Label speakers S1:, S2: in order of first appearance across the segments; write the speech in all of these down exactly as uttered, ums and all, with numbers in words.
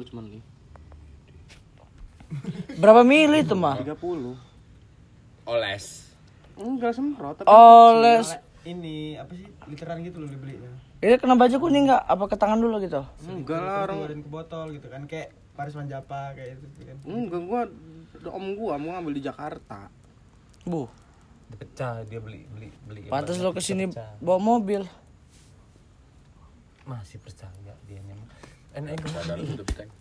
S1: puluh cuman nih.
S2: Berapa mili itu mah?
S1: tiga puluh.
S3: Oles.
S1: Enggak semprot tapi
S2: Oles.
S4: Ini apa sih? Literan gitu loh dibelinya.
S2: Ini kena baju kuning enggak? Apa ke tangan dulu gitu?
S1: enggak lah orang.
S4: Keluarin ke botol gitu kan kayak Paris Manjapa kayak itu kan.
S1: Enggak, gua om gua mau ngambil di Jakarta.
S2: Bu.
S3: Pecah dia beli beli beli.
S2: Pantas lo kesini bawa mobil.
S3: Masih percaya dia nyamuk. Enak enggak ada tutup tank.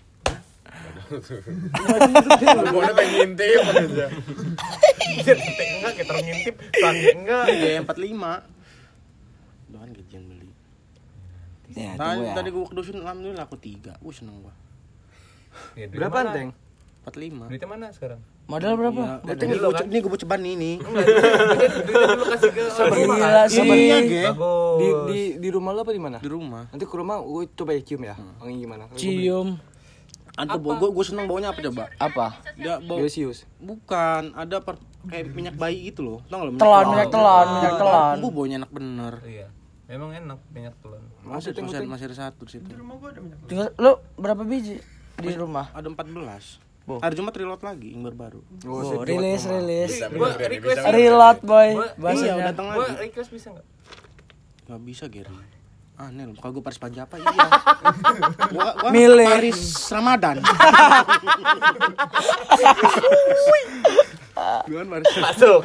S3: Gua udah pengen ngintip aja. Enggak kita ngintip, sange enggak.
S1: Iya empat puluh lima. Doan gajian beli.
S2: Ya,
S1: Tadi,
S2: ya.
S1: tadi gua ke dusun alhamdulillah aku tiga. Wah seneng gua.
S3: Ya,
S4: Berapa Teng?
S1: empat puluh lima.
S3: Duitnya mana sekarang?
S2: Modal berapa?
S1: Ya, ini gua ini gua ceban ini.
S3: Duitnya dulu kasih ke
S2: Gila sih.
S3: Bagus.
S4: Di di di rumah lo apa di mana?
S1: Di rumah.
S4: Nanti ke rumah gue coba ya cium ya. Wangi gimana?
S2: Cium.
S1: Ada gua gua seneng baunya apa coba?
S2: Apa?
S1: Dia bau
S4: Gelasius.
S1: bukan, ada per, kayak minyak bayi gitu loh. Tau enggak lo?
S2: Telan, minyak telan, minyak telan.
S1: Bu baunya enak bener.
S3: Iya. Memang enak minyak telon.
S1: Masih masih, masih ada satu di situ.
S2: Tinggal lu berapa biji di rumah?
S1: Ada empat belas.
S2: Bo.
S1: Hari Jumat reload lagi yang baru.
S2: Oh, rilis rilis.
S3: Gua request
S2: Reload boy
S1: Iya,
S2: bahasanya.
S1: datang
S3: Gua
S1: lagi.
S3: request bisa enggak?
S1: Enggak bisa, Gary. Aneh loh, kalau gue Paris Panjapa iya. Gua gua
S2: Milih.
S1: Paris Ramadan. Gua Paris
S3: Masuk.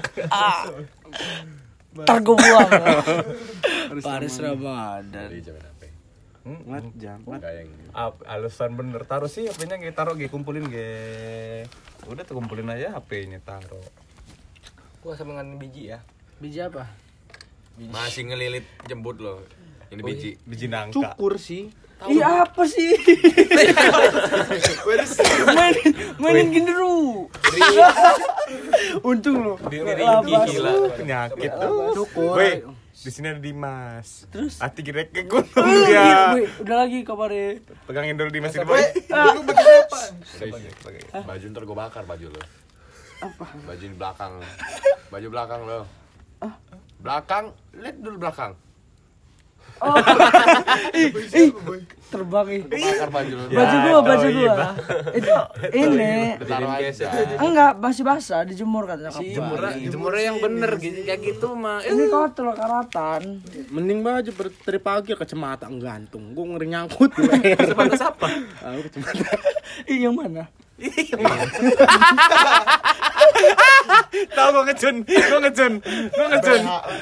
S2: Ntar gue buang. Paris Ramadan.
S1: Ngeliat jam.
S3: Ap, alasan bener taruh sih H P-nya kita taruh ge kumpulin ge. Udah tuh kumpulin aja H P-nya taruh.
S4: Gua sama dengan biji ya.
S2: Biji apa?
S5: Masih ngelilit jembut loh. Ini biji.
S3: Biji nangka.
S1: Cukur sih.
S2: Iya apa sih? main mainin gini dulu. Untung lo.
S3: Di
S2: Lapas.
S3: gila penyakit tuh.
S1: Cukur.
S3: Woi, di sini ada Dimas.
S2: Terus?
S3: Hati kira ke gunung
S2: Wih,
S3: dia.
S2: wih, udah lagi kabarnya.
S3: Pegangin dulu Dimas di bawah.
S5: Baju ntar gue bakar baju lo. Apa? Baju di belakang. Baju belakang lo. Belakang, lihat dulu belakang.
S2: Ih, terbang ih.
S5: Bakar baju lo.
S2: Baju gua, baju
S3: iya,
S2: gua. Itu ini.
S5: Taruh aja.
S2: Enggak, masih basah, dijemur kan nyokap.
S3: Jemurnya, jemurnya yang bener gitu kayak gitu mah.
S2: Ini kotor karatan.
S1: Mending baju ber- dari pagi kacamata gantung. Gue ngeri nyangkut.
S3: Sebatas apa?
S1: Aku kacamata.
S2: Ih, yang mana?
S3: Tahu gua ngecun, gua ngecun, gua ngecun.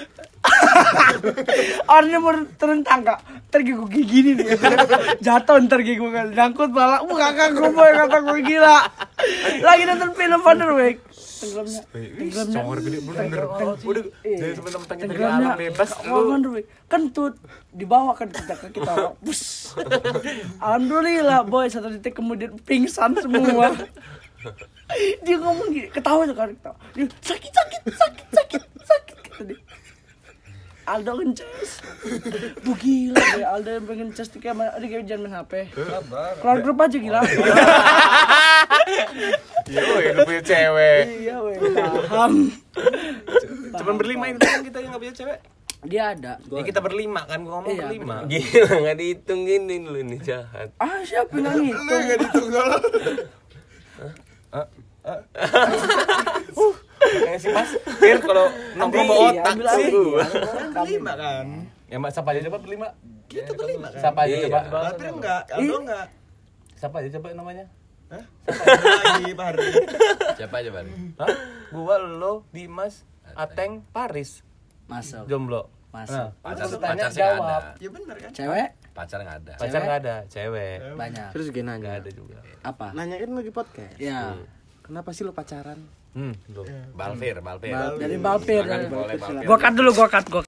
S2: Orangnya mau turun tangga, ntar gue gini nih, jatuh ntar gue kan, nyangkut bala, uh kakak gue boy kata gue gila, lagi nonton film Wonderweg, tenggelamnya, tenggelamnya,
S3: Songor gede bener. Udah, jadi teman-teman kita di
S2: tenggelamnya,
S3: alam bebas
S2: oh,
S3: lu.
S2: Wonderweg, kentut, dibawa kan kita ke kita, bus, alhamdulillah boy satu detik kemudian pingsan semua. Dia ngomong gini, ketawa tuh kan, ketawa, dia sakit sakit sakit sakit sakit kata dia. Aldo ngeces. Bu gila deh, Aldo yang pengen ngeces tuh kayak ada kayak jangan main H P. Keluar grup aja gila.
S3: Iya, woi, lu punya cewek.
S2: Iya weh, paham.
S3: Cuman berlima ini kan kita yang enggak punya cewek.
S2: Dia ada.
S3: Ya kita berlima kan, gua ngomong
S2: Iya,
S3: berlima.
S5: Gila nggak dihitung gini lu ini jahat.
S2: Ah siapa yang ngitung?
S3: Kayak si Mas, Fir kalau nongkrong bawa otak
S2: ambil
S3: sih.
S2: lagi.
S4: Berlima kan?
S3: Ya Mbak, siapa aja coba berlima?
S4: Kita berlima kan?
S3: Siapa aja
S5: Iya.
S3: coba?
S4: Baper enggak? Aldo enggak?
S3: Siapa aja coba namanya?
S4: Hah? Lagi Pak Hari.
S5: Siapa aja Bang?
S3: Hah? Gua, lo, Dimas, Ateng, Paris.
S2: Masuk.
S3: Jomblo.
S2: Masuk.
S5: Pacar
S3: Terus tanya,
S5: pacar sih nggak ada.
S3: jawab.
S4: Ya benar kan?
S2: Cewek
S5: Pacar nggak ada.
S3: Pacar nggak ada, cewek.
S2: banyak.
S1: Terus gue
S3: Nggak
S1: nanya.
S3: ada juga.
S2: Apa?
S1: Nanyain lagi podcast.
S2: Ya.
S1: Kenapa sih lo pacaran?
S3: Hmm, lo.
S5: Balfir, Balfir.
S2: Bal- dari Balpir.
S5: Silakan boleh Balfir.
S2: Gua cut dulu, gua cut, gua